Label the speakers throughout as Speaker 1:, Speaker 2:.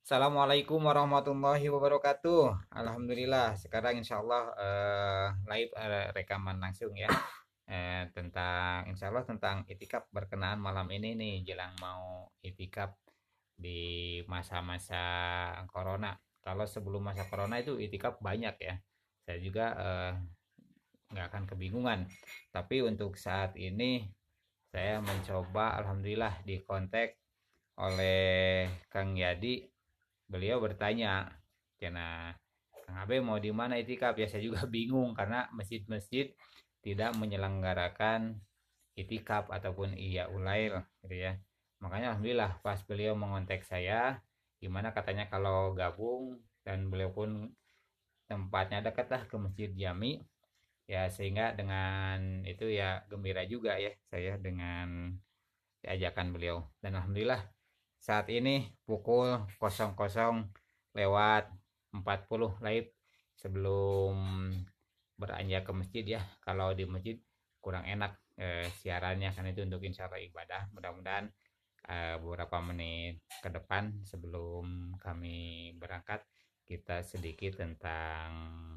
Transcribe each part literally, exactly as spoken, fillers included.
Speaker 1: Assalamualaikum warahmatullahi wabarakatuh. Alhamdulillah, sekarang insya Allah eh, live eh, rekaman langsung ya. Eh, tentang insya Allah tentang itikaf berkenaan malam ini nih jelang mau itikaf di masa-masa corona. Kalau sebelum masa corona itu itikaf banyak ya. Saya juga eh, nggak akan kebingungan. Tapi untuk saat ini saya mencoba, alhamdulillah dikontak oleh Kang Yadi. Beliau bertanya, "Cina, Kang Abe mau di mana itikaf?" Ya saya juga bingung karena masjid-masjid tidak menyelenggarakan itikaf ataupun iya ulail gitu ya. Makanya alhamdulillah pas beliau mengontak saya, gimana katanya kalau gabung, dan beliau pun tempatnya dekat lah ke Masjid Jami, ya sehingga dengan itu ya gembira juga ya saya dengan diajakan beliau. Dan alhamdulillah saat ini pukul nol nol lewat empat puluh live sebelum beranjak ke masjid ya. Kalau di masjid kurang enak eh, siarannya kan itu untuk insya Allah ibadah. Mudah-mudahan eh, beberapa menit ke depan sebelum kami berangkat kita sedikit tentang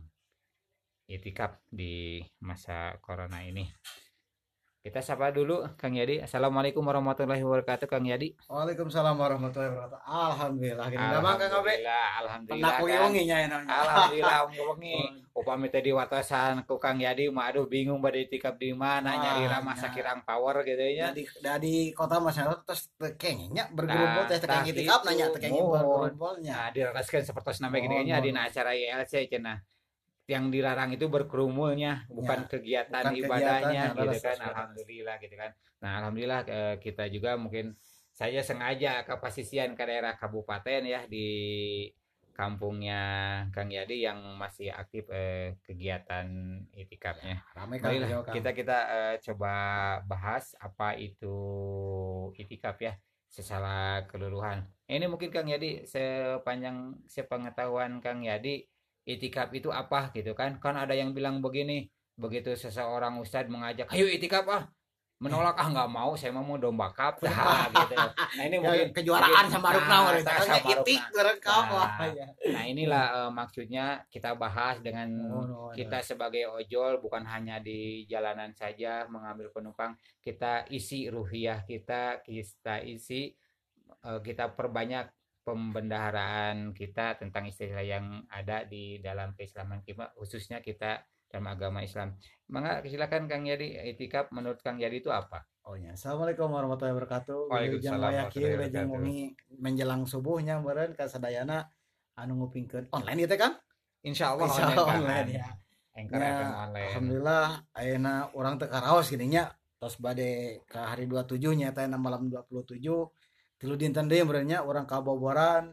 Speaker 1: itikaf di masa corona ini. Kita sapa dulu Kang Yadi. Assalamualaikum warahmatullahi wabarakatuh Kang Yadi.
Speaker 2: Waalaikumsalam warahmatullahi wabarakatuh. Alhamdulillah gini damang Kang Abe.
Speaker 1: Alhamdulillah,
Speaker 2: Penak
Speaker 1: alhamdulillah kan.
Speaker 2: wengi nya enaknya.
Speaker 1: Alhamdulillah wengi.
Speaker 2: Oh,
Speaker 1: Upami teh di watasan ku Kang Yadi mah aduh bingung bade tikap di mana nyari
Speaker 2: wah,
Speaker 1: ramah
Speaker 2: nya
Speaker 1: sakirang power gitu ya.
Speaker 2: dari dari kota masyarakat terus tekengnya bergerombol
Speaker 1: Nah,
Speaker 2: teh
Speaker 1: tah
Speaker 2: tekeng itikaf
Speaker 1: gitu.
Speaker 2: nanya tekengnya
Speaker 1: Mohon.
Speaker 2: bergerombolnya.
Speaker 1: Nah, diraskeun sapertos nambah gini
Speaker 2: Mohon
Speaker 1: nya
Speaker 2: mohon
Speaker 1: dina
Speaker 2: mohon.
Speaker 1: acara I L C cenah. Yang dilarang itu berkerumulnya,
Speaker 2: Nya
Speaker 1: bukan kegiatan
Speaker 2: bukan
Speaker 1: ibadahnya
Speaker 2: kegiatannya
Speaker 1: gitu
Speaker 2: leres
Speaker 1: kan.
Speaker 2: leres leres.
Speaker 1: Alhamdulillah gitu kan. Nah, alhamdulillah eh, kita juga mungkin saya sengaja ke pasisian ke daerah kabupaten ya di kampungnya Kang Yadi yang masih aktif eh, kegiatan
Speaker 2: Ya,
Speaker 1: itikafnya.
Speaker 2: ramai Kang
Speaker 1: Marilah
Speaker 2: beliau Kang.
Speaker 1: kita kita eh, coba bahas apa itu itikaf ya secara keseluruhan. Ini mungkin Kang Yadi sepanjang sepengetahuan Kang Yadi itikaf itu apa gitu kan? Kan ada yang bilang begini, begitu seseorang ustadz mengajak, "Ayo itikaf ah." Menolak, "Ah nggak mau, saya mau domba kap." Nah, gitu. Nah, ini
Speaker 2: Ya
Speaker 1: mungkin mungkin
Speaker 2: kejuaraan sama Rukna
Speaker 1: nah,
Speaker 2: mereka
Speaker 1: tak
Speaker 2: kan
Speaker 1: sama
Speaker 2: itik
Speaker 1: Rukna.
Speaker 2: beren wah
Speaker 1: Nah,
Speaker 2: ya.
Speaker 1: nah inilah eh, maksudnya kita bahas dengan
Speaker 2: Mohon mohon.
Speaker 1: kita
Speaker 2: Mohon.
Speaker 1: sebagai ojol bukan hanya di jalanan saja mengambil penumpang, kita isi ruhiyah kita, kita isi eh, kita perbanyak pembendaharaan kita tentang istilah yang ada di dalam keislaman kita, khususnya kita dalam agama Islam. Maka silakan Kang Yadi, itikaf menurut Kang Yadi itu apa?
Speaker 2: Oh ya, assalamualaikum warahmatullahi wabarakatuh. Wilujeng
Speaker 1: Waalaikumsalam
Speaker 2: wayaki,
Speaker 1: warahmatullahi
Speaker 2: wilujeng
Speaker 1: wabarakatuh.
Speaker 2: wengi menjelang subuhnya meureun ka sadayana anu ngupingkeun online gitu kan?
Speaker 1: Insya Allah
Speaker 2: Insya
Speaker 1: online
Speaker 2: Allah
Speaker 1: Kang.
Speaker 2: online ya.
Speaker 1: Anchor
Speaker 2: Nya
Speaker 1: F M online.
Speaker 2: alhamdulillah ayeuna urang teu karaos gini nya. Tos bade ka hari dua puluh tujuh nya eta malam dua puluh tujuh tilu dinten deui meureun nya urang kaboboran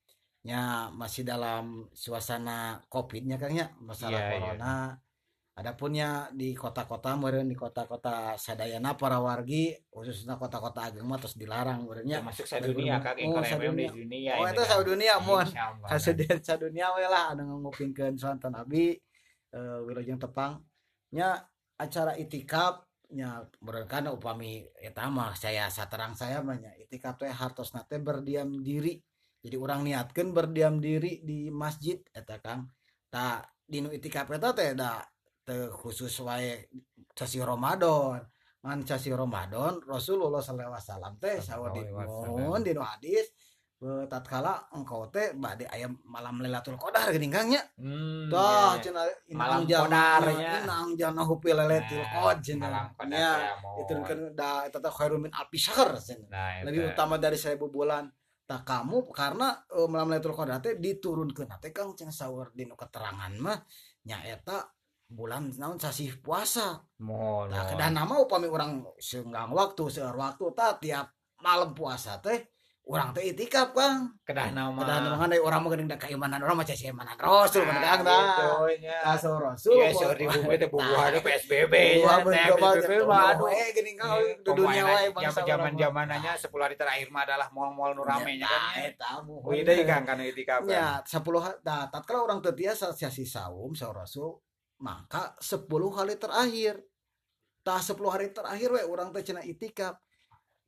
Speaker 2: nya masih dalam suasana Covid-nya Kang nya,
Speaker 1: Iya,
Speaker 2: masalah
Speaker 1: iya.
Speaker 2: corona. Adapunnya di kota-kota meureun di kota-kota sadayana para wargi khususnya kota-kota ageng mah tos dilarang meureun nya
Speaker 1: Termasuk sadunia
Speaker 2: berkerumun.
Speaker 1: Kang
Speaker 2: Oh
Speaker 1: Anchor F M di
Speaker 2: sadunia.
Speaker 1: dunia
Speaker 2: Oh
Speaker 1: itu
Speaker 2: eta
Speaker 1: Kang.
Speaker 2: sadunia moal
Speaker 1: Insya Allah Kang.
Speaker 2: kaseudean sadunia we lah anu ngupingkeun sonten abi eh, Wilujeng Tepang nya acara itikaf nya meureun kana upami eta mah saya saterang saya mah nya itikaf teh hartosna teh berdiam diri. Jadi orang niatkeun berdiam diri di masjid eta Kang. Ta dinu itikaf eta teh da teu khusus wae sasi Ramadan. Man sasi Ramadan Rasulullah sallallahu alaihi wasallam teh saur
Speaker 1: Sallallahu
Speaker 2: di
Speaker 1: alaihi wasallam.
Speaker 2: mun dinu hadis eh, tatkala engkau teh bade aya malam Lailatul Qadar geuning Kang nya.
Speaker 1: Hmm, iya,
Speaker 2: Tah
Speaker 1: iya.
Speaker 2: cenah
Speaker 1: Malam
Speaker 2: inang janna
Speaker 1: kodarnya.
Speaker 2: inang janna hupi Lailatul
Speaker 1: Nah,
Speaker 2: Qadar cenah.
Speaker 1: malam kodar
Speaker 2: Nya
Speaker 1: ya mohon.
Speaker 2: diturunkeun da eta teh khairun min alfi syahr cenah.
Speaker 1: Nah, itu.
Speaker 2: Lebih utama dari seribu bulan. Tak kamu karena eh, malam Lailatul Qadar teh diturunkeun teh Kang cenah saur dinu keterangan mah nya eta bulan naon sasih puasa.
Speaker 1: Mohon,
Speaker 2: Tah
Speaker 1: mohon.
Speaker 2: kedah nama upami urang seunggang waktu seueur waktu tah tiap malam puasa teh urang teh itikaf Kang.
Speaker 1: Kedah
Speaker 2: Kedah
Speaker 1: nama.
Speaker 2: nama kan urang mah geuning da keimanan urang mah cai imanan Rasul kan
Speaker 1: Nah,
Speaker 2: Kang
Speaker 1: gitu
Speaker 2: tah.
Speaker 1: nya.
Speaker 2: Tah saur Rasul
Speaker 1: Iya,
Speaker 2: kok
Speaker 1: seueur di bumi teh bubuhanna P S B B
Speaker 2: Wah,
Speaker 1: nya teh.
Speaker 2: bener banget.
Speaker 1: P S B B mah aduh.
Speaker 2: Eh, gini Kang
Speaker 1: Iya,
Speaker 2: di dunia
Speaker 1: pemain
Speaker 2: wae bangsa urang
Speaker 1: zaman
Speaker 2: mah.
Speaker 1: zamananya sepuluh hari terakhir mah adalah mal-mal nu rame nya kan
Speaker 2: Nah,
Speaker 1: nya.
Speaker 2: eta muhun.
Speaker 1: Wih deui Kang kana itikaf Kang.
Speaker 2: Ya, sepuluh ha- nah, tatkala orang teu tiasa sasi saum saur Rasul, maka sepuluh hari terakhir. Tah sepuluh hari terakhir we urang teh cenah itikaf.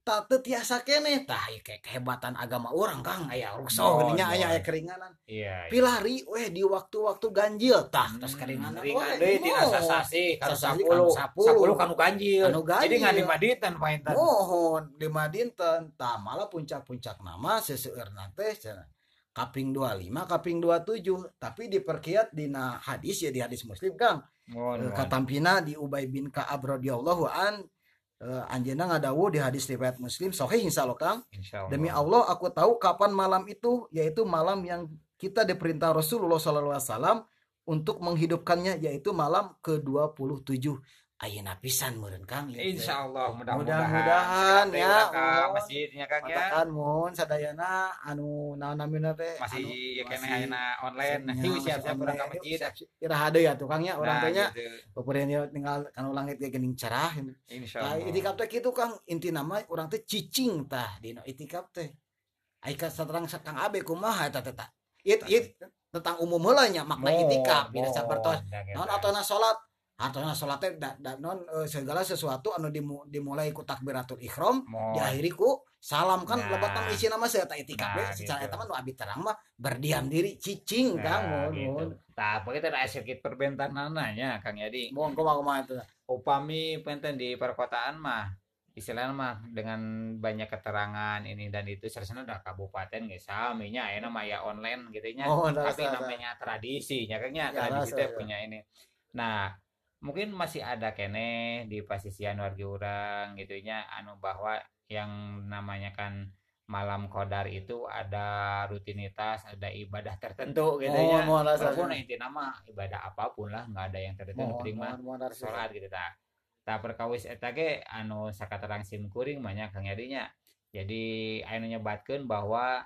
Speaker 2: tak teu tiasa keneh tah kayak kehebatan agama orang Kang aya rukso
Speaker 1: Mohon,
Speaker 2: geuning nya aya aya
Speaker 1: mohon.
Speaker 2: keringanan
Speaker 1: Iya, iya.
Speaker 2: pilari weh di waktu-waktu ganjil tah tos
Speaker 1: Hmm,
Speaker 2: keringanan
Speaker 1: ringan
Speaker 2: weh
Speaker 1: deui tina
Speaker 2: mohon.
Speaker 1: sasasi kanu
Speaker 2: Sasasi
Speaker 1: sapuluh.
Speaker 2: kanu sapuluh.
Speaker 1: Sapuluh kanu ganjil.
Speaker 2: Anu ganjil.
Speaker 1: Jadi ngan lima dinten painten.
Speaker 2: Mohon lima dinten tah malah puncak-puncak nama seseueurna teh cenah kaping dua puluh lima kaping dua puluh tujuh tapi diperkiat dina hadis ya di hadis Muslim Kang.
Speaker 1: Mohon,
Speaker 2: Eh,
Speaker 1: mohon.
Speaker 2: katampina di Ubay bin Ka'ab radhiyallahu an eh, anjeunna ngadawu di hadis riwayat Muslim sahih insyaallah Kang.
Speaker 1: Insyaallah.
Speaker 2: Demi Allah aku tahu kapan malam itu yaitu malam yang kita diperintah Rasulullah sallallahu alaihi wasallam untuk menghidupkannya yaitu malam ke dua puluh tujuh. Ayeuna pisan meureun Kang.
Speaker 1: Insyaallah
Speaker 2: Mudah-mudahan,
Speaker 1: mudah-mudahan
Speaker 2: ya,
Speaker 1: ya ka
Speaker 2: mohon.
Speaker 1: masjidnya Kang ya.
Speaker 2: Katakan mun sadayana anu naon namina teh
Speaker 1: Masih
Speaker 2: anu,
Speaker 1: ya kene
Speaker 2: masih-
Speaker 1: ayeuna online. Nah,
Speaker 2: nya,
Speaker 1: hiu
Speaker 2: masih
Speaker 1: siap-siap urang ka
Speaker 2: online.
Speaker 1: masjid.
Speaker 2: Iraha deui atuh Kang ya urang
Speaker 1: Nah,
Speaker 2: teh nya
Speaker 1: gitu.
Speaker 2: peureun ieu tinggal kanu langit ge geuning cerah. Tah
Speaker 1: Insyaallah.
Speaker 2: itikaf teh kitu Kang intina mah urang teh cicing tah dina itikaf teh. Ai ka saterang Kang Abe kumaha eta teh tah. It it tentang umum heula nya makna
Speaker 1: Mohon,
Speaker 2: itikaf beda sapertos.
Speaker 1: mohon, jangan.
Speaker 2: Non atona salat atona salat teh da, da, non eh, segala sesuatu anu dimu, dimulai ku takbiratul ihram
Speaker 1: Mohon.
Speaker 2: diakhiri ku salam kan
Speaker 1: Nah.
Speaker 2: lebat nama isina mah eta itikaf
Speaker 1: Nah,
Speaker 2: we secara
Speaker 1: gitu.
Speaker 2: eta mah nu abi terang mah berdiam diri cicing Kang
Speaker 1: Nah,
Speaker 2: mohon
Speaker 1: gitu.
Speaker 2: mohon
Speaker 1: Tah, pokoknya teh ada sedikit perbentanana nya Kang Yadi.
Speaker 2: mohon kumaha kumaha eta
Speaker 1: Upami penten di perkotaan mah istilahnya mah dengan banyak keterangan ini dan itu seharusnya udah kabupaten nggak sami nya enak mah ya online gitu nya
Speaker 2: Oh,
Speaker 1: tapi
Speaker 2: rasa,
Speaker 1: namanya tradisi nya kayaknya
Speaker 2: Ya,
Speaker 1: tradisi
Speaker 2: rasa,
Speaker 1: teh
Speaker 2: ya.
Speaker 1: punya ini nah mungkin masih ada kene di pasisian warga orang gitu nya anu bahwa yang namanya kan malam qadar itu ada rutinitas ada ibadah tertentu gitu
Speaker 2: Mohon,
Speaker 1: nya
Speaker 2: mohon, rasa,
Speaker 1: walaupun
Speaker 2: ya.
Speaker 1: inti nama ibadah apapun lah nggak ada yang tertentu
Speaker 2: mohon
Speaker 1: penting mah
Speaker 2: mohon mohon rasa.
Speaker 1: sholat gitu ta tak perkawis eta ge anu sakaterang sim kuring banyak Kang Yadinya jadi anu nyebatkeun bahwa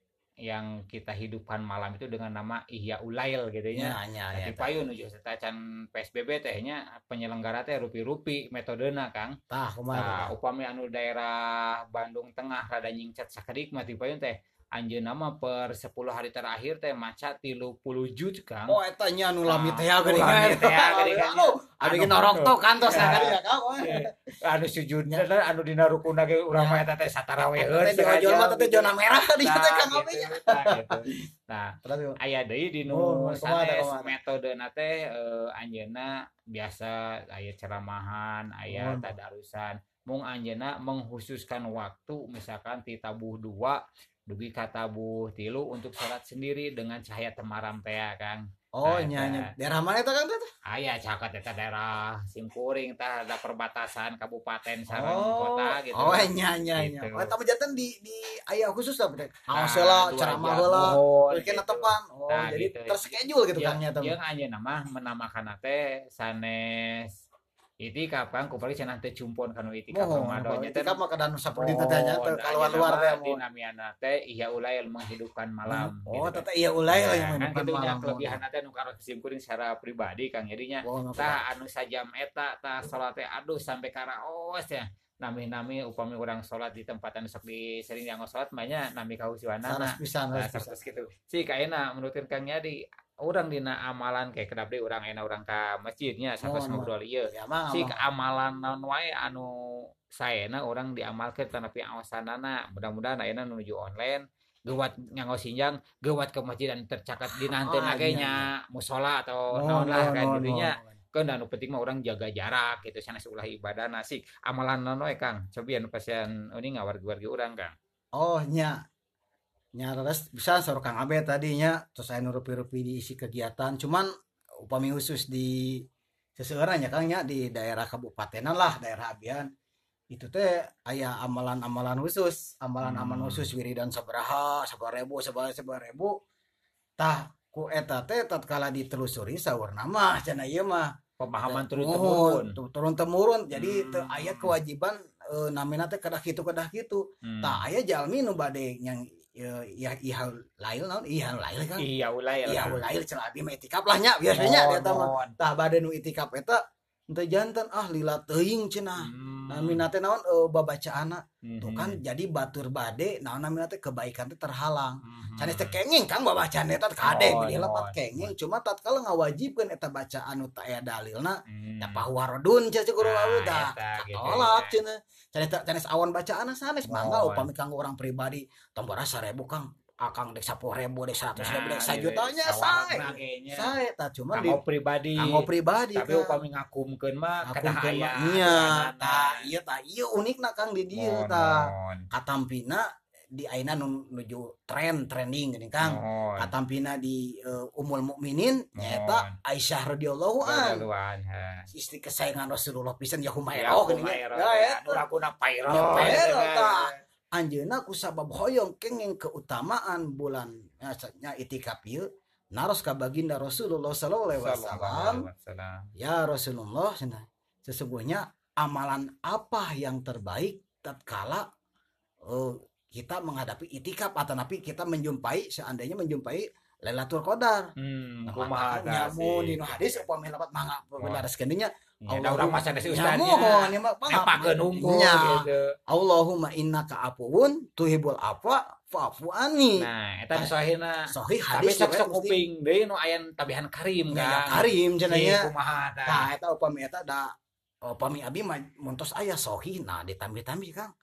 Speaker 1: yang kita hidupkan malam itu dengan nama Ihya Ulail gitu nya
Speaker 2: nya nya
Speaker 1: tapi
Speaker 2: nya
Speaker 1: payun nuju eta can P S B B teh nya penyelenggara teh rupi-rupi metodena Kang
Speaker 2: tah kumaha
Speaker 1: nah
Speaker 2: tah
Speaker 1: upami anu daerah Bandung Tengah rada nyingcat sakedik mah ti payun teh anjeunna mah per sepuluh hari terakhir teh maca tilu puluh juz Kang
Speaker 2: oh eta nya nu lami teh ya
Speaker 1: Nah,
Speaker 2: geuning
Speaker 1: lami teh ya geuning kan.
Speaker 2: anu abi ge norok to kantos
Speaker 1: Ya.
Speaker 2: sakali ya Kang
Speaker 1: anu sujudnya teh anu dina rukuna ge urang mah eta teh sataraweheun
Speaker 2: teh di ojol mah teh zona merah di
Speaker 1: Nah,
Speaker 2: teh Kang Abe
Speaker 1: gitu,
Speaker 2: nya
Speaker 1: nah, gitu. Nah,
Speaker 2: terus
Speaker 1: aya deui di nu
Speaker 2: Oh, kumaha teh,
Speaker 1: sanes
Speaker 2: kumaha teh?
Speaker 1: metodena teh eh, anjeunna biasa aya ceramahan, aya
Speaker 2: Oh,
Speaker 1: tadarusan. Mung anjeunna menghususkan waktu misalkan ti tabuh dua dugi ka tabuh tilu untuk sholat sendiri dengan cahaya temaram teh ya, Kang.
Speaker 2: oh
Speaker 1: Nah,
Speaker 2: nya
Speaker 1: eta.
Speaker 2: nya daerah mana eta Kang teh
Speaker 1: Aya caket eta daerah Simkuring tah ada perbatasan kabupaten sareng
Speaker 2: oh
Speaker 1: kota gitu.
Speaker 2: oh nya nya nya
Speaker 1: Gitu.
Speaker 2: oh eta mah janten di di aya khusus lah teh
Speaker 1: Nah,
Speaker 2: aos heula
Speaker 1: dua
Speaker 2: ceramah
Speaker 1: jam,
Speaker 2: heula
Speaker 1: mohon,
Speaker 2: terus kena
Speaker 1: gitu.
Speaker 2: tepan oh
Speaker 1: Nah,
Speaker 2: jadi
Speaker 1: gitu.
Speaker 2: terschedule gitu
Speaker 1: Ya,
Speaker 2: Kang nya teh
Speaker 1: yang ayeuna mah menamakan teh sanes itikaf Kang kupari cenah teh cumpon kanu itikaf
Speaker 2: mohon
Speaker 1: Ramadan nya teh
Speaker 2: itikaf mah kadang saperti teh nya teh keluar luar teh mohon
Speaker 1: dinamiana teh Ihya Ulail menghidupkan malam
Speaker 2: oh
Speaker 1: gitu.
Speaker 2: teh iya ulai lah
Speaker 1: Nah,
Speaker 2: yang
Speaker 1: kan
Speaker 2: menghidupkan
Speaker 1: gitu nya
Speaker 2: malam
Speaker 1: kelebihan teh nu karo kesimkuring secara pribadi Kang jadinya
Speaker 2: mohon
Speaker 1: tah anu sajam eta tah salat teh aduh sampai karaos ya nami-nami upami urang salat di tempat anu sok di sering dianggo salat mah nya nami kausiwanana
Speaker 2: sanes pisan
Speaker 1: nah
Speaker 2: sanes pisan
Speaker 1: terus gitu si kaena menurut Kang Yadi urang dina amalan kayak kedap deui urang ena urang ka masjidnya sampai
Speaker 2: Mohon,
Speaker 1: ngobrol ieu
Speaker 2: ya mah
Speaker 1: si
Speaker 2: mah.
Speaker 1: amalan naon wae anu saena urang diamalkeun tanapi aosanana mudah-mudahan ayeuna nuju online geuwat nganggo sinjang geuwat ke masjid anu tercatat di nanteun
Speaker 2: Ah,
Speaker 1: ge
Speaker 2: iya,
Speaker 1: nya musola atau
Speaker 2: Mohon,
Speaker 1: naon lah
Speaker 2: mohon,
Speaker 1: kan
Speaker 2: mohon,
Speaker 1: jadinya
Speaker 2: mohon.
Speaker 1: kan anu penting mah urang jaga jarak gitu sanes ulah ibadah nasik amalan naon wae Kang cobian pasien ini ngawargi-wargi urang Kang
Speaker 2: Oh nya nya terus bisa suruh Kang Abe tadinya terus saya nurupi-rupi diisi kegiatan cuman upami khusus di seseorang ya Kang nya di daerah kabupatenan lah daerah Abian itu teh aya amalan-amalan khusus amalan-amalan
Speaker 1: Hmm.
Speaker 2: khusus wiridan sabaraha sabaraha sabaraha sabaraha tah ku eta teh tatkala ditelusuri saurna mah cenah ieu mah
Speaker 1: pemahaman turun
Speaker 2: Mohon,
Speaker 1: temurun
Speaker 2: tu- turun temurun jadi teu
Speaker 1: Hmm.
Speaker 2: aya kewajiban eh, namina teh kedah kitu kedah kitu
Speaker 1: Hmm.
Speaker 2: tah aya jalmi nu bade yang ya ya ihal lail naon ihal lail kan
Speaker 1: Iya Ulail
Speaker 2: iya
Speaker 1: Kang.
Speaker 2: lail cenah abi mah itikaf lah nya biasanya
Speaker 1: Mohon,
Speaker 2: eta mah
Speaker 1: mohon.
Speaker 2: tah bade nu itikaf eta teu janten ah lila teuing cenah
Speaker 1: Hmm.
Speaker 2: namina teh naon eh, babacaana tuh
Speaker 1: Mhm.
Speaker 2: kan jadi batur bade naon namina teh kebaikan teh terhalang.
Speaker 1: Mhm.
Speaker 2: Canes teh kenging Kang babacaan eta kade
Speaker 1: Mohon,
Speaker 2: bilih lepat
Speaker 1: mohon,
Speaker 2: kenging cuma tatkala ngawajibkeun eta bacaan nu teu aya dalilna
Speaker 1: Hmm.
Speaker 2: da pahuwarodun cenah guru
Speaker 1: Nah,
Speaker 2: awewe da
Speaker 1: eta gitu
Speaker 2: katolak
Speaker 1: ya.
Speaker 2: cenah. Canes canes awan bacaanna sanes mangga
Speaker 1: Mohon.
Speaker 2: upami kanggo orang pribadi tombora seribu Kang akang dek sepuluh ribu dek seratus ribu
Speaker 1: Nah,
Speaker 2: dek
Speaker 1: gitu.
Speaker 2: sajutanya
Speaker 1: Sawarna
Speaker 2: sae
Speaker 1: kayaknya.
Speaker 2: sae tah cuman di
Speaker 1: Kanggo pribadi.
Speaker 2: kanggo pribadi
Speaker 1: Tapi
Speaker 2: Kang.
Speaker 1: upami ngakumkeun mah
Speaker 2: Aku
Speaker 1: kedah
Speaker 2: kan
Speaker 1: aya
Speaker 2: nya
Speaker 1: aturanana.
Speaker 2: tah ieu tah ieu unikna Kang di dieu
Speaker 1: Mohon,
Speaker 2: tah
Speaker 1: mohon.
Speaker 2: katampina di aina nu nuju tren trending gini Kang
Speaker 1: Mohon.
Speaker 2: katampina di uh, Ummul Mukminin nyaeta
Speaker 1: Mohon.
Speaker 2: Aisyah radhiyallahu an
Speaker 1: Radhiyallahu anha.
Speaker 2: istri kesayangan Rasulullah pisan ya
Speaker 1: Ya,
Speaker 2: Humairah gini
Speaker 1: Humairah,
Speaker 2: ya
Speaker 1: ya,
Speaker 2: eta
Speaker 1: nurakuna pairo.
Speaker 2: Pairo, tah. Anjeunna ku sabab hoyong kenging keutamaan bulan nya itikaf ieu naros ka baginda Rasulullah sallallahu alaihi wasallam ya Rasulullah cenah sesungguhnya amalan apa yang terbaik tatkala uh, kita menghadapi itikaf atau napi kita menjumpai seandainya menjumpai Lailatul Qadar.
Speaker 1: Hmm,
Speaker 2: Nah,
Speaker 1: kumaha
Speaker 2: makanya
Speaker 1: tah
Speaker 2: mun
Speaker 1: sih?
Speaker 2: dina hadis upami lapat mangga benareskeun dinya
Speaker 1: Ya, da urang mah sanes ustadnya.
Speaker 2: mohon ya mah
Speaker 1: Nepakeun unggul
Speaker 2: nya.
Speaker 1: gitu.
Speaker 2: Allahumma innaka afuwun tuhibul afwa fa'fu anni.
Speaker 1: Nah, eta sahihna.
Speaker 2: Sahih
Speaker 1: Tapi
Speaker 2: hadis
Speaker 1: sok
Speaker 2: riwayat
Speaker 1: sok
Speaker 2: Muslim.
Speaker 1: kuping deui nu aya tabihan karim
Speaker 2: Ya,
Speaker 1: kan.
Speaker 2: karim cenah nya.
Speaker 1: Kumaha tah?
Speaker 2: Tah eta upami eta da upami abi mah muntos aya sahih nah ditambi-tambi Kang.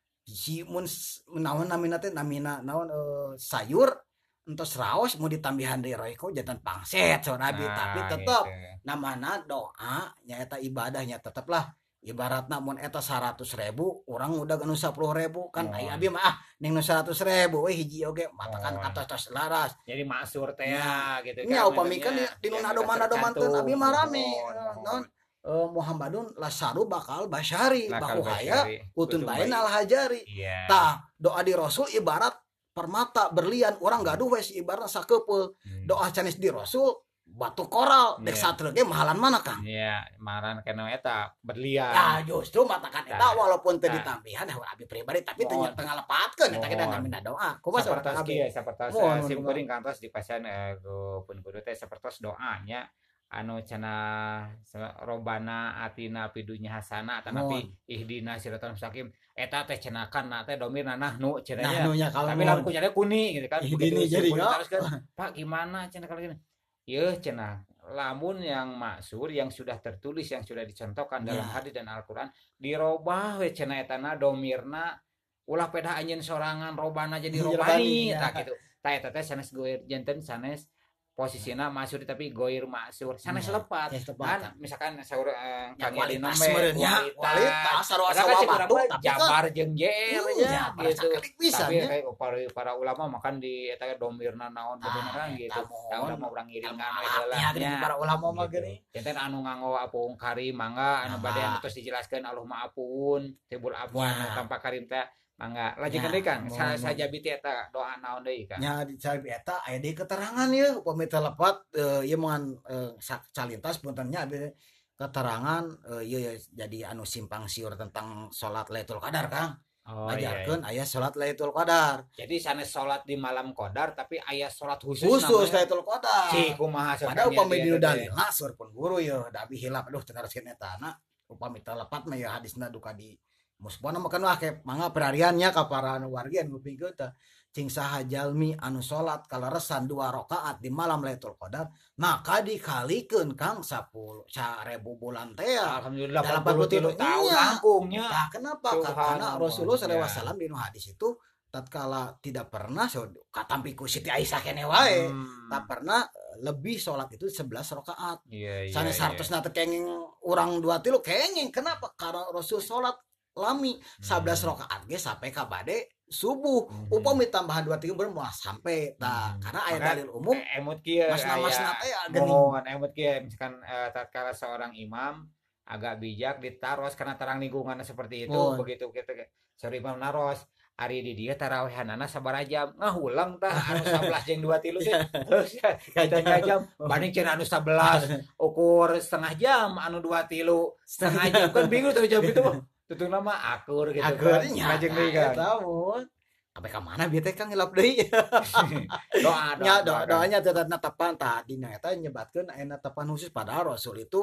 Speaker 2: Si mun naon namina teh namina naon uh, sayur entos raos mau ditambihan deui roeko jantan pangset saur abi
Speaker 1: Nah,
Speaker 2: tapi tetep
Speaker 1: gitu.
Speaker 2: namana doa nyaeta ibadahnya teteplah ibaratna mun eta seratus ribu orang udah nu sepuluh ribu kan
Speaker 1: Oh.
Speaker 2: ai abi mah ah ning nu seratus ribu we hiji oge matakan
Speaker 1: Oh.
Speaker 2: katos-tos laras
Speaker 1: Jadi maksur teh
Speaker 2: Nya.
Speaker 1: gitu
Speaker 2: nya upami kan di, di nu nado-manadomanteun abi mah rame
Speaker 1: Mohon.
Speaker 2: naon eh, Muhammadun lasaru bakal basyari
Speaker 1: Lakal
Speaker 2: bahu haya
Speaker 1: basyari.
Speaker 2: utun
Speaker 1: Utun
Speaker 2: bain
Speaker 1: bain.
Speaker 2: al hajari
Speaker 1: Iya.
Speaker 2: tah doa di Rasul ibarat permata berlian orang gaduh wes ibarat sakepeul
Speaker 1: Hmm.
Speaker 2: doa canis di Rasul batu koral dek
Speaker 1: Iya.
Speaker 2: sateureun ge mahalan mana Kang
Speaker 1: Iya, maran kana eta berlian.
Speaker 2: ya justru matakan eta
Speaker 1: Tah.
Speaker 2: walaupun teu
Speaker 1: Tah.
Speaker 2: ditambihan abi pribadi tapi teu
Speaker 1: Mohon.
Speaker 2: tengah lepatkeun eta kita
Speaker 1: Mohon.
Speaker 2: namina doa kumaha
Speaker 1: Sapertos
Speaker 2: sahabat abi
Speaker 1: kieu sapertos
Speaker 2: Mohon,
Speaker 1: eh, sim
Speaker 2: mohon.
Speaker 1: kuring kantos dipasihan eh, ku pun kudu teh sapertos doanya anu cenah se- robana atina pidunya hasana atanapi ihdina siratal mustaqim eta teh cenah kana teh domirna nahnu cenah
Speaker 2: nah
Speaker 1: nya.
Speaker 2: nunya kalau
Speaker 1: Tapi lamun kunyana kuni gitu kan.
Speaker 2: Ihdini
Speaker 1: Begitu
Speaker 2: jadi
Speaker 1: kuning
Speaker 2: enggak?
Speaker 1: terus kan, Pak gimana cenah kalau gini? Yeuh cenah lamun yang maksur yang sudah tertulis yang sudah dicontohkan dalam
Speaker 2: Ya.
Speaker 1: hadis dan Al-Qur'an dirobah we cenah etana domirna ulah peda anjeun sorangan robana jadi
Speaker 2: Jadi
Speaker 1: robani
Speaker 2: robani, ya.
Speaker 1: tah gitu. Tah eta teh sanes goir janten sanes posisina masur tapi goir maksur sanes
Speaker 2: Ya,
Speaker 1: lepat.
Speaker 2: sanes lepat.
Speaker 1: Kan misalkan saur eh,
Speaker 2: Ya,
Speaker 1: Kang Yadi
Speaker 2: kualitas
Speaker 1: nome,
Speaker 2: meureunnya, kualitas sarua
Speaker 1: Padahal
Speaker 2: sawa
Speaker 1: kan cek urang
Speaker 2: batu,
Speaker 1: mah
Speaker 2: tapi kan-
Speaker 1: Jabar jeung Jer
Speaker 2: Iya,
Speaker 1: nya
Speaker 2: pada
Speaker 1: gitu.
Speaker 2: sakalik pisan,
Speaker 1: Tapi
Speaker 2: ya.
Speaker 1: kayak para, para ulama makan di eta domirna naon
Speaker 2: Ah,
Speaker 1: beneran
Speaker 2: eta
Speaker 1: gitu.
Speaker 2: mohon.
Speaker 1: Tah udah mau urang ngiringan we
Speaker 2: Hati
Speaker 1: heula
Speaker 2: hati
Speaker 1: nya.
Speaker 2: para ulama mah
Speaker 1: Gitu.
Speaker 2: geuning.
Speaker 1: Janten anu nganggo apung karim mangga anu
Speaker 2: Nah,
Speaker 1: bade anu
Speaker 2: mah.
Speaker 1: terus dijelaskeun Allahumma apun tibul afwan
Speaker 2: Ya.
Speaker 1: tanpa karim teh mangga lajeng
Speaker 2: Ya,
Speaker 1: deui Kang
Speaker 2: mohon,
Speaker 1: sa
Speaker 2: mohon.
Speaker 1: sajabi teh eta doa naon deui Kang.
Speaker 2: Nya di cabi eta aya deui keterangan ye upami teu lepat eh, ieu moal eh, sak- calintas puntennya abi keterangan eh, ieu ya jadi anu simpang siur tentang salat Lailatul Qadar Kang.
Speaker 1: Oh iya.
Speaker 2: Ajarkeun aya salat Lailatul Qadar.
Speaker 1: Jadi sanes salat di malam qadar tapi aya salat khusus
Speaker 2: Khusus
Speaker 1: namanya.
Speaker 2: Lailatul Qadar.
Speaker 1: Cih kumaha
Speaker 2: Padahal
Speaker 1: sebenarnya
Speaker 2: upami
Speaker 1: dia
Speaker 2: dinu
Speaker 1: teh.
Speaker 2: dalilna sur pun guru ya da abi hilap aduh teu naroskeun eta na upami teu lepat mah ya hadisna duka di musbana makan wah ke mangga perhariannya ka para anu wargi anu ngupingkeun teh cing saha jalmi anu salat kaleresan dua rakaat di malam Lailatul Qadar maka dikalikeun Kang sepuluh seribu bulan teh ya.
Speaker 1: Alhamdulillah
Speaker 2: Dalam
Speaker 1: delapan puluh tiga
Speaker 2: empat puluh
Speaker 1: tahun
Speaker 2: iya.
Speaker 1: langkungnya.
Speaker 2: Nah, kenapa?
Speaker 1: Subhanallah.
Speaker 2: Karena Rasulullah sallallahu alaihi
Speaker 1: Ya.
Speaker 2: wasallam di nu hadis itu tatkala tidak pernah so katampi ku Siti Aisyah kene wae
Speaker 1: Hmm.
Speaker 2: tak pernah eh, lebih sholat itu sebelas rakaat.
Speaker 1: Iya iya.
Speaker 2: Sanes
Speaker 1: iya.
Speaker 2: hartosna teh kenging urang dua tilu kenging kenapa? Karena Rasul sholat lami sebelas rakaat ge sampai ka bade subuh.
Speaker 1: Hmm.
Speaker 2: Upami tambahan dua tilu bener moal sampai tah
Speaker 1: Hmm.
Speaker 2: karena aya
Speaker 1: Maka,
Speaker 2: dalil umum
Speaker 1: eh, emut kieu
Speaker 2: masna-masna teh ya geuning.
Speaker 1: mohon emut kieu misalkan eh, tatkala seorang imam agak bijak ditaros karena terang lingkungannya seperti itu
Speaker 2: Mohon.
Speaker 1: begitu kita sorry imam naros ari di dia tarawehanana sabaraha jam ngahulang tah anu sebelas jeung dua tilu teh setengah jam banding cenah anu sebelas ukur setengah jam anu dua tilu setengah jam kan bingung tuh jam itu tutung nama akur gitu
Speaker 2: Akhirnya
Speaker 1: lajeng deui kan
Speaker 2: tahu. Sampai ka mana bieu teh Kang hilap deui.
Speaker 1: doa
Speaker 2: Nya
Speaker 1: doa
Speaker 2: doa doanya tetep netepan tah dina eta nyebatkeun aya netepan khusus padahal Rasul itu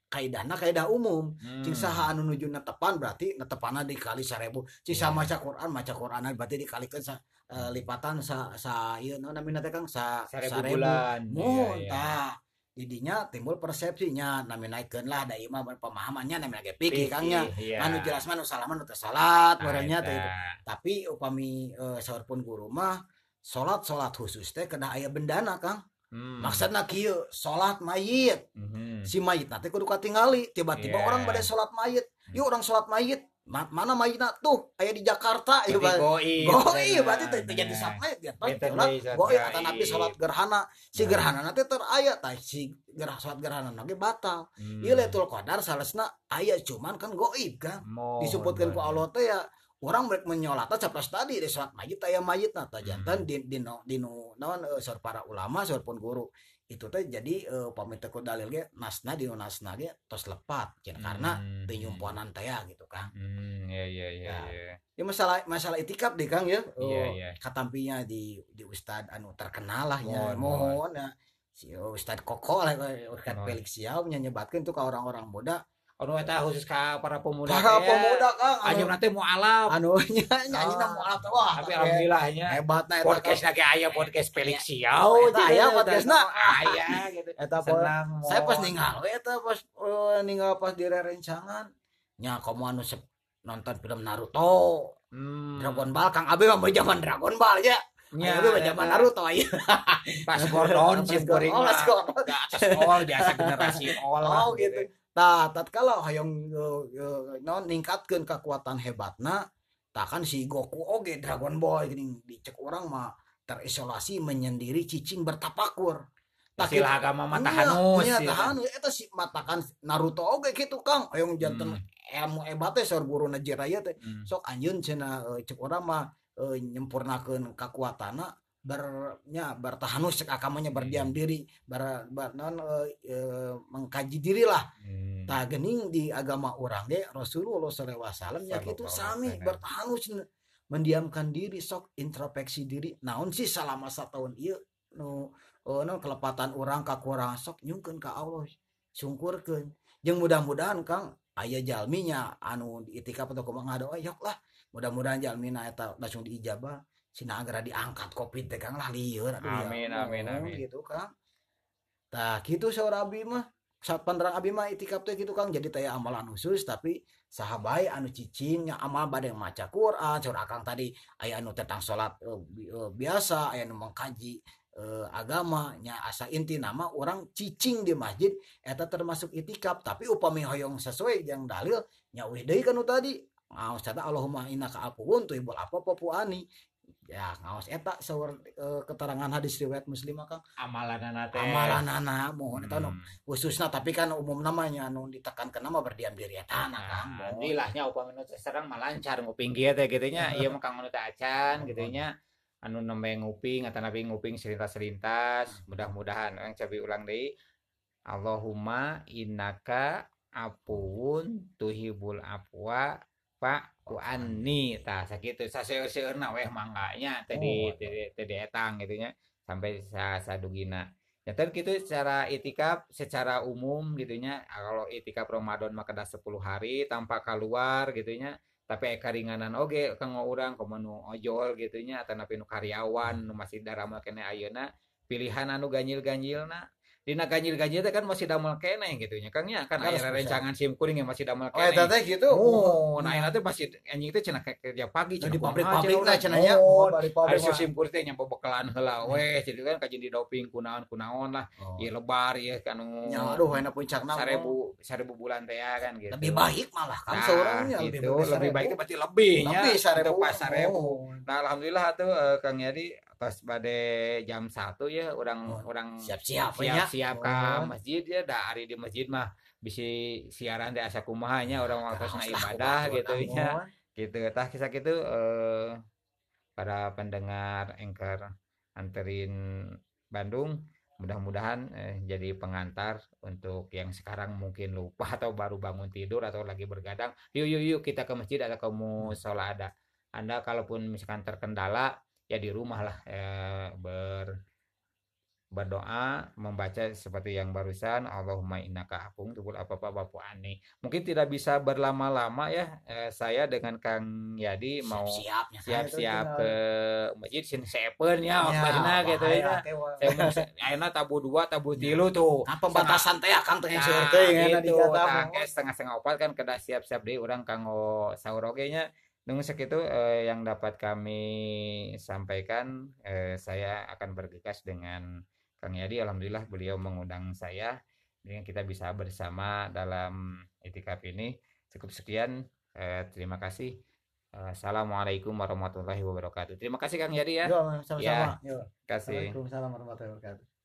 Speaker 2: kaidahna kaidah umum. Cing saha
Speaker 1: Hmm.
Speaker 2: anu nuju netepan berarti netepanna dikali seribu. Cing
Speaker 1: Iya.
Speaker 2: sama maca Quran maca Quranan berarti dikalikeun sa eh, lipatan sa sa ieu naon namina teh Kang sa
Speaker 1: Seribu
Speaker 2: seribu.
Speaker 1: bulan. Iya,
Speaker 2: Mun
Speaker 1: iya.
Speaker 2: tah didinya timbul persepsinya nami naikeun lah da ieu mah pemahamannya nami lagi pikir Kangnya.
Speaker 1: Fikih, iya.
Speaker 2: Anu jelas mah nu salah mah nu teu salat
Speaker 1: Nah,
Speaker 2: meureunnya teh
Speaker 1: eta.
Speaker 2: itu. Tapi upami eh, saurpun guru mah salat-salat khusus teh kedah aya bendana Kang.
Speaker 1: Hmm.
Speaker 2: Maksudna kieu salat mayit.
Speaker 1: Mhm.
Speaker 2: Si mayit nanti kudu katingali tiba-tiba
Speaker 1: Iya.
Speaker 2: orang pada sholat mayit yuk orang sholat mayit Ma- mana mayitna tuh aya di Jakarta ya
Speaker 1: Berarti
Speaker 2: Pak.
Speaker 1: goib.
Speaker 2: Goi berarti teh teu jadi
Speaker 1: Nah.
Speaker 2: sholat mayit ya Pak.
Speaker 1: Beten
Speaker 2: Sholat
Speaker 1: deui sholat
Speaker 2: goi kata Nabi
Speaker 1: gaib.
Speaker 2: sholat gerhana si
Speaker 1: Nah.
Speaker 2: gerhana nanti ter aya tah si gerah sholat gerhana nage batal.
Speaker 1: Hmm.
Speaker 2: Ieu Lailatul Qadar salesna aya cuman kan goib kan
Speaker 1: Mohon,
Speaker 2: disebutkan ku
Speaker 1: mohon.
Speaker 2: Allah teh ya orang mereka menyolata capras tadi di sholat mayit aya mayitna tah jantan
Speaker 1: Hmm.
Speaker 2: di di no- di nu naon eh, saur para ulama saur pun guru itu teh jadi eh, pamit teu dalil ge nasna di nasna ge tos lepat cenah karena
Speaker 1: Hmm.
Speaker 2: teu nyumpuanan teh ya gitu Kang.
Speaker 1: Hmm, iya iya iya
Speaker 2: Ya.
Speaker 1: iya.
Speaker 2: Ya masalah masalah itikaf deh Kang ya.
Speaker 1: Iya,
Speaker 2: Oh,
Speaker 1: iya.
Speaker 2: katampinya di di Ustad anu terkenal lah ya.
Speaker 1: Mohon,
Speaker 2: Mohon ya. Si Ustad Koko lah Ustad
Speaker 1: Mohon.
Speaker 2: Felix Siau nya nyebatkeun tuh ke orang-orang muda.
Speaker 1: Anu eta khusus ka para pemuda
Speaker 2: Para
Speaker 1: teh.
Speaker 2: pemuda Kang anu
Speaker 1: Anjeun nanti mau alaf.
Speaker 2: anu nya nyanyi
Speaker 1: Ah.
Speaker 2: mu alat wah.
Speaker 1: Tapi
Speaker 2: tah,
Speaker 1: alhamdulillahnya
Speaker 2: hebatna eta
Speaker 1: podcast
Speaker 2: Kang.
Speaker 1: lagi aya podcast Felix
Speaker 2: Oh,
Speaker 1: Siau.
Speaker 2: eta aya podcastna.
Speaker 1: Aya gitu.
Speaker 2: Eta po-
Speaker 1: Senang.
Speaker 2: saya pas
Speaker 1: mohon.
Speaker 2: ninggal we eta pas eh, ninggal pas di rerencangan nya komo anu sep- nonton film Naruto.
Speaker 1: Hmm.
Speaker 2: Dragon Ball Kang Abi mah zaman Dragon Ball ya.
Speaker 1: Nya,
Speaker 2: Ayo mah zaman
Speaker 1: eta.
Speaker 2: Naruto aya.
Speaker 1: Pas Gordon
Speaker 2: Pas
Speaker 1: sim
Speaker 2: Gordon,
Speaker 1: kuring
Speaker 2: oh,
Speaker 1: mah.
Speaker 2: pas Gordon.
Speaker 1: Di atas all biasa generasi all lah.
Speaker 2: Oh gitu. Tah, tatkala hoyong uh, uh, naon ningkatkeun kekuatan hebatna, tah kan si Goku oge Dragon Ball geuning dicek orang mah terisolasi menyendiri cicing bertapakur. Tah
Speaker 1: Istilah agama mah
Speaker 2: Iya,
Speaker 1: tahanus.
Speaker 2: iya,
Speaker 1: ya kan?
Speaker 2: tahanus eta si matakan Naruto oge kitu Kang. Hoyong janten
Speaker 1: Hmm.
Speaker 2: ilmu hebat teh saur guruna Jiraiya teh.
Speaker 1: Hmm.
Speaker 2: Sok anjeun cenah uh, cek urang mah uh, nyempurnakeun kekuatanna bernya bertahanus cek akamanya berdiam diri ber, ber non, uh, uh, mengkaji diri lah.
Speaker 1: Hmm.
Speaker 2: Tah geuning di agama urang ge Rasulullah sallallahu alaihi wasallam nya kitu
Speaker 1: Sallallahu
Speaker 2: sami
Speaker 1: alaihi wasallam.
Speaker 2: bertahanus mendiamkan diri sok introspeksi diri. Naon sih selama satahun ieu nu uh, non kelepatan urang kakurangan sok nyungkeun ka Allah syukurkeun. Jeung mudah-mudahan Kang aya jalminya anu di itikaf atau kumaha ngadoa yok lah. Mudah-mudahan jalmina eta langsung diijabah. Cina agara diangkat covid teh Kang lah lieur atuh ya.
Speaker 1: Amin, amin,
Speaker 2: Oh,
Speaker 1: amin.
Speaker 2: gitu Kang. Tah kitu saur abi mah saat panderang abi mah itikaf teh gitu Kang jadi teh amalan khusus tapi saha bae anu cicing nya amal bade maca Quran saur akang tadi aya anu tentang salat eh, bi- eh, biasa aya anu mengkaji eh, agama nya asa inti nama orang cicing di masjid eta termasuk itikaf tapi upami hoyong sesuai yang dalil nya weh deui kanu tadi ngaos eta Allahumma innaka afuwun tuhibbul afwa fa'fu anni ya ngaos eta saur eh, keterangan hadis riwayat Muslim Kang
Speaker 1: Amalanana teh.
Speaker 2: amalanana mohon eta nu
Speaker 1: Hmm.
Speaker 2: khususna tapi kan umum namanya anu ditekankan nama berdiam diri eta na Kang.
Speaker 1: Nah, dilahnya upami nu serang malancar nguping kieu teh kitu nya ieu mah kang anu teh acan kitu nya anu nembe nguping atau nabi nguping selintas-selintas mudah-mudahan yang cabi ulang deui Allahumma innaka afuwun tuhibul afwa fa'fu anni tah sakitu saseueur-seueurna weh mangganya teh di
Speaker 2: Oh,
Speaker 1: teh teh di etang kitu nya sampai sa sadugina. Ya kan gitu secara itikaf secara umum gitunya kalau itikaf Ramadan mah kada sepuluh hari tanpa keluar gitunya tapi eka ringanan oge kanggo urang komo nu ojol gitunya atau napi nu karyawan nu masih daramal kene ayeuna pilihan anu ganjil-ganjilna dina ganjil-ganjil teh kan masih damel kene gitunya Kang nya kan aya
Speaker 2: Harus bisa.
Speaker 1: rencangan sim kuring yang masih damel
Speaker 2: oh eta
Speaker 1: kene
Speaker 2: teh gitu
Speaker 1: oh nah ayeuna teh masih anjing teh cenah kerja pagi
Speaker 2: Nah, di
Speaker 1: kumaha
Speaker 2: pabrik-pabrik
Speaker 1: cenah
Speaker 2: lah
Speaker 1: urang.
Speaker 2: cenah nya
Speaker 1: Oh,
Speaker 2: di
Speaker 1: Ari
Speaker 2: pabrik mah.
Speaker 1: sim kuring teh nyampe bekalan heula weh jadi kan kajin di doping kunaon kunaon lah
Speaker 2: Oh.
Speaker 1: ieu lebar ieu anu
Speaker 2: nya aduh enak puncakna
Speaker 1: seribu seribu bulan teh ya kan gitu.
Speaker 2: lebih baik malah kan
Speaker 1: Nah,
Speaker 2: seorangnya
Speaker 1: itu
Speaker 2: lebih baik
Speaker 1: lebih baik
Speaker 2: seribu.
Speaker 1: berarti lebihnya
Speaker 2: Lebih seribu.
Speaker 1: pas seribu.
Speaker 2: Oh.
Speaker 1: Nah, alhamdulillah tuh eh, Kang Yadi pas pada jam satu ya orang
Speaker 2: Oh,
Speaker 1: orang
Speaker 2: siap-siap ya.
Speaker 1: siap-siap ke masjid ya da hari di masjid mah bisa siaran di asa kumahanya orang waktu ibadah gitu ya. Gitu tah kisah gitu eh, para pendengar Anchor anterin Bandung mudah-mudahan eh, jadi pengantar untuk yang sekarang mungkin lupa atau baru bangun tidur atau lagi bergadang yuk yuk yuk kita ke masjid atau ke musola ada Anda kalaupun misalkan terkendala ya di rumah lah eh, ber berdoa, membaca seperti yang barusan, Allahumma innaka afuwwun tuhibbul afwa fa'fu anni. Mungkin tidak bisa berlama-lama ya. Eh, saya dengan Kang Yadi mau
Speaker 2: Siap-siapnya saya itu
Speaker 1: siap-siap
Speaker 2: tinggal
Speaker 1: ke masjid sin sepen ya
Speaker 2: ya
Speaker 1: maksudnya gitu
Speaker 2: bahaya
Speaker 1: ya.
Speaker 2: teh wah.
Speaker 1: Saya mau ayeuna tabu dua, tabu
Speaker 2: Ya.
Speaker 1: tilu tuh.
Speaker 2: Nah, pembatasan teh akang teh
Speaker 1: Nah,
Speaker 2: seueur teuing aya di
Speaker 1: gitu.
Speaker 2: jatah
Speaker 1: Tah
Speaker 2: mah.
Speaker 1: ke setengah-setengah opat kan kedah siap-siap deui urang kanggo saur oge nya. Nunggu segitu eh, yang dapat kami sampaikan. Eh, saya akan bergegas dengan Kang Yadi. Alhamdulillah beliau mengundang saya. Dengan kita bisa bersama dalam itikaf ini. Cukup sekian. Eh, terima kasih. Eh, Assalamualaikum warahmatullahi wabarakatuh. Terima kasih Kang Yadi ya.
Speaker 2: Yo,
Speaker 1: Ya,
Speaker 2: sama-sama. Yo.
Speaker 1: kasih.
Speaker 2: Waalaikumsalam warahmatullahi wabarakatuh.